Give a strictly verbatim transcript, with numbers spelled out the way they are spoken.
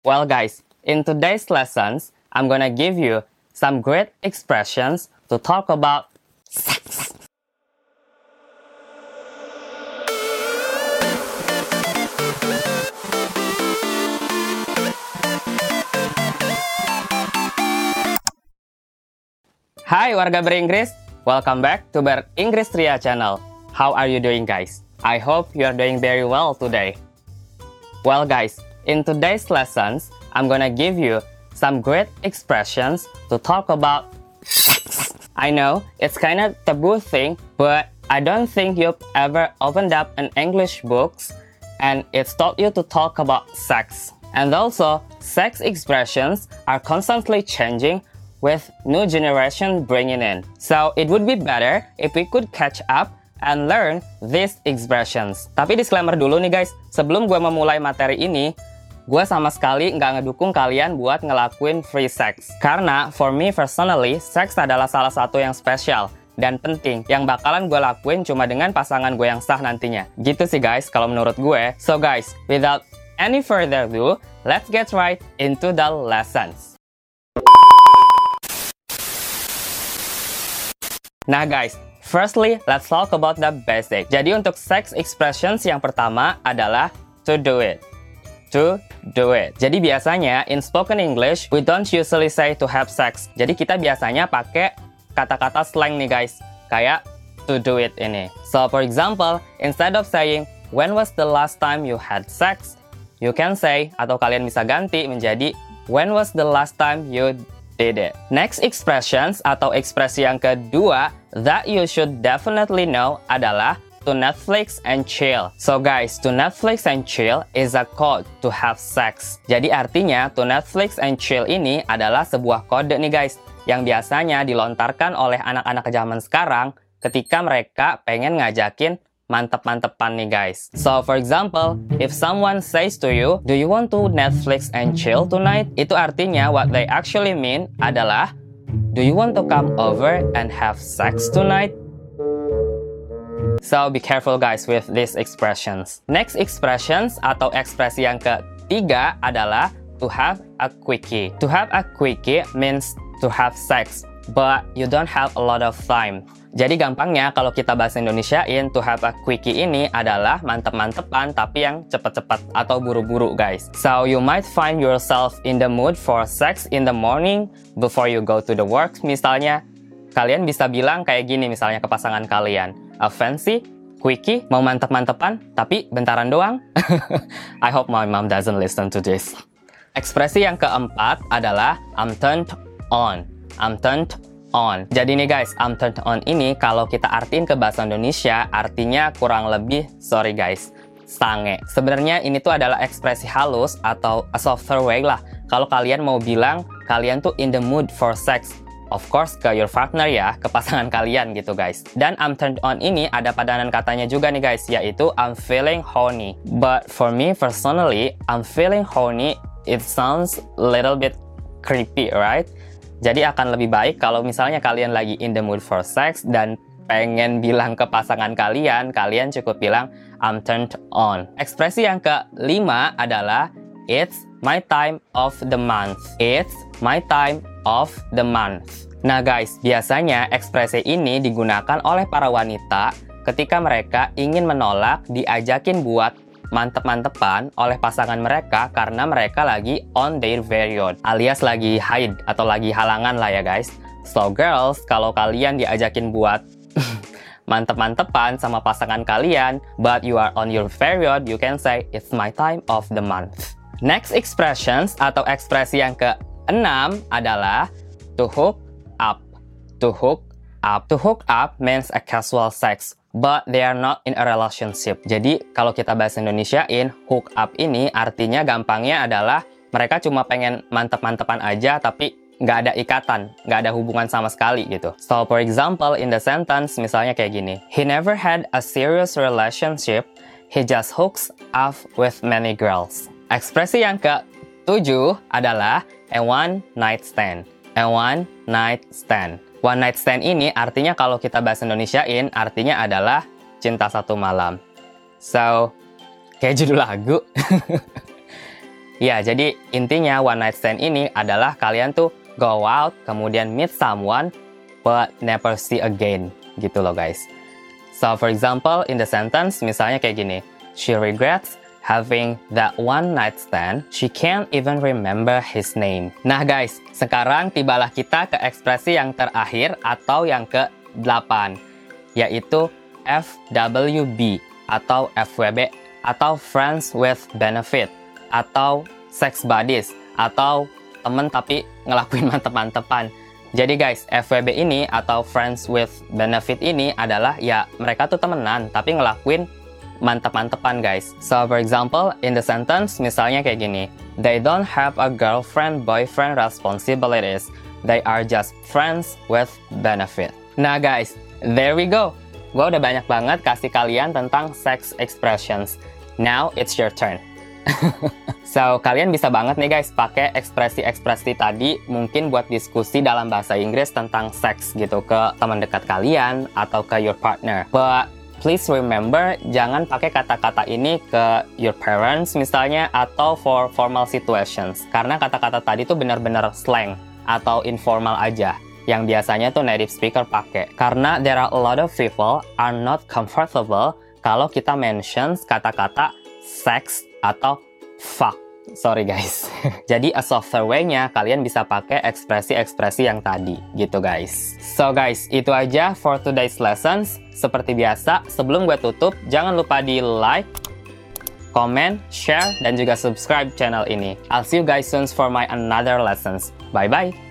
Well guys, in today's lessons, I'm gonna give you some great expressions to talk about sex. Hai warga beringgris, welcome back to Beringgris Ria channel. How are you doing guys? I hope you are doing very well today. Well guys, in today's lessons, I'm gonna give you some great expressions to talk about sex. I know, it's kind of taboo thing, but I don't think you've ever opened up an English books and it's taught you to talk about sex. And also, sex expressions are constantly changing with new generation bringing in. So it would be better if we could catch up and learn these expressions. Tapi disclaimer dulu nih guys, sebelum gue memulai materi ini, gue sama sekali nggak ngedukung kalian buat ngelakuin free sex. Karena for me personally, sex adalah salah satu yang spesial dan penting yang bakalan gue lakuin cuma dengan pasangan gue yang sah nantinya. Gitu sih guys kalau menurut gue. So guys, without any further ado, let's get right into the lessons. Nah guys, firstly, let's talk about the basic. Jadi untuk sex expressions yang pertama adalah to do it. To do it. Jadi biasanya in spoken English, we don't usually say to have sex. Jadi kita biasanya pakai kata-kata slang nih guys, kayak to do it ini. So for example, instead of saying when was the last time you had sex, you can say, atau kalian bisa ganti menjadi when was the last time you did it. Next expressions atau ekspresi yang kedua that you should definitely know adalah to Netflix and chill. So guys, to Netflix and chill is a code to have sex. Jadi artinya to Netflix and chill ini adalah sebuah kode nih guys yang biasanya dilontarkan oleh anak-anak zaman sekarang ketika mereka pengen ngajakin mantep-mantepan nih guys. So for example, if someone says to you, do you want to Netflix and chill tonight? Itu artinya what they actually mean adalah, do you want to come over and have sex tonight? So be careful guys with these expressions. Next expressions atau ekspresi yang ketiga adalah to have a quickie. To have a quickie means to have sex, but you don't have a lot of time. Jadi gampangnya kalau kita bahasa Indonesiain, to have a quickie ini adalah mantep-mantepan tapi yang cepet-cepet atau buru-buru guys. So you might find yourself in the mood for sex in the morning before you go to the work misalnya. Kalian bisa bilang kayak gini misalnya ke pasangan kalian, a fancy quickie, mau mantep-mantepan tapi bentaran doang. I hope my mom doesn't listen to this. Ekspresi yang keempat adalah I'm turned on. I'm turned on. Jadi nih guys, I'm turned on ini kalau kita artiin ke bahasa Indonesia artinya kurang lebih, sorry guys, sange. Sebenarnya ini tuh adalah ekspresi halus atau a softer way lah. Kalau kalian mau bilang kalian tuh in the mood for sex, of course ke your partner ya, ke pasangan kalian gitu guys. Dan I'm turned on ini ada padanan katanya juga nih guys, yaitu I'm feeling horny. But for me personally, I'm feeling horny, it sounds a little bit creepy, right? Jadi akan lebih baik kalau misalnya kalian lagi in the mood for sex dan pengen bilang ke pasangan kalian, kalian cukup bilang I'm turned on. Ekspresi yang kelima adalah it's my time of the month. It's my time of the month. Nah guys, biasanya ekspresi ini digunakan oleh para wanita ketika mereka ingin menolak diajakin buat mantep-mantepan oleh pasangan mereka karena mereka lagi on their period alias lagi haid atau lagi halangan lah ya guys. So girls, kalau kalian diajakin buat mantep-mantepan sama pasangan kalian but you are on your period, you can say it's my time of the month. Next expressions atau ekspresi yang keenam adalah to hook up. To hook up. To hook up means a casual sex, but they are not in a relationship. Jadi kalau kita bahasa Indonesiain, hook up ini artinya gampangnya adalah mereka cuma pengen mantep-mantepan aja tapi nggak ada ikatan, nggak ada hubungan sama sekali gitu. So for example, in the sentence misalnya kayak gini, he never had a serious relationship, he just hooks up with many girls. Ekspresi yang ketujuh adalah a one night stand. A one night stand. One night stand ini artinya kalau kita bahasa Indonesiain artinya adalah cinta satu malam. So, kayak judul lagu. Ya, jadi intinya one night stand ini adalah kalian tuh go out, kemudian meet someone, but never see again, gitu loh guys. So, for example, in the sentence, misalnya kayak gini, she regrets having that one night stand, she can't even remember his name. Nah guys, sekarang tibalah kita ke ekspresi yang terakhir atau yang ke delapan, yaitu F W B atau F W B atau friends with benefit atau sex buddies atau temen tapi ngelakuin mantep-mantepan. Jadi guys, F W B ini atau friends with benefit ini adalah ya mereka tuh temenan tapi ngelakuin mantep-mantepan guys. So for example, in the sentence misalnya kayak gini, they don't have a girlfriend boyfriend responsibilities, they are just friends with benefit. Nah guys, there we go. Gue udah banyak banget kasih kalian tentang sex expressions. Now it's your turn. So, kalian bisa banget nih guys pakai ekspresi-ekspresi tadi mungkin buat diskusi dalam bahasa Inggris tentang seks gitu ke teman dekat kalian atau ke your partner. But please remember, jangan pakai kata-kata ini ke your parents misalnya atau for formal situations. Karena kata-kata tadi tuh benar-benar slang atau informal aja yang biasanya tuh native speaker pakai. Karena there are a lot of people are not comfortable kalau kita mention kata-kata sex atau fuck. Sorry guys. Jadi a softer way-nya kalian bisa pakai ekspresi-ekspresi yang tadi gitu guys. So guys, itu aja for today's lessons. Seperti biasa, sebelum gue tutup, jangan lupa di like, comment, share, dan juga subscribe channel ini. I'll see you guys soon for my another lessons. Bye-bye!